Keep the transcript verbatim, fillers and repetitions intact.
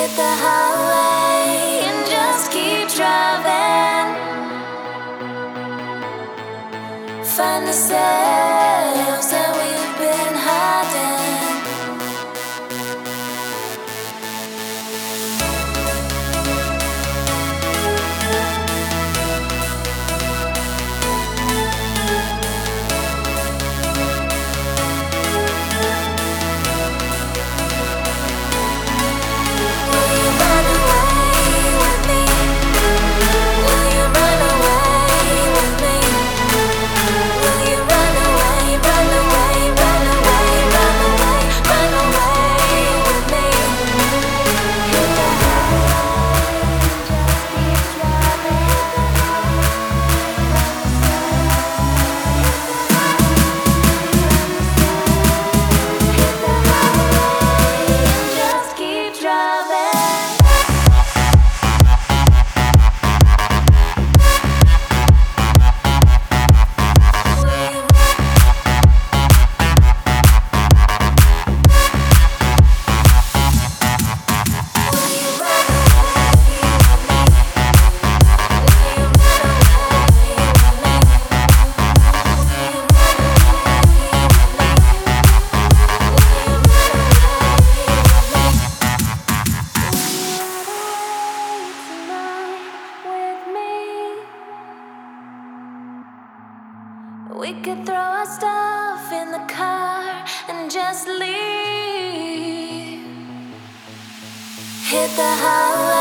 Hit the highway and just keep driving. Find ourselves that we've been hiding. Will you run away with me? Will you run away with me? Will you run away, run away, run away, run away, run away with me? Hit the highway and just keep driving. Hit the highway and just keep driving. Will you Will you run away with me? Will you run away with me? Will you run away with me? Will you run away with me? We could throw our stuff in the car and just leave. Hit the highway.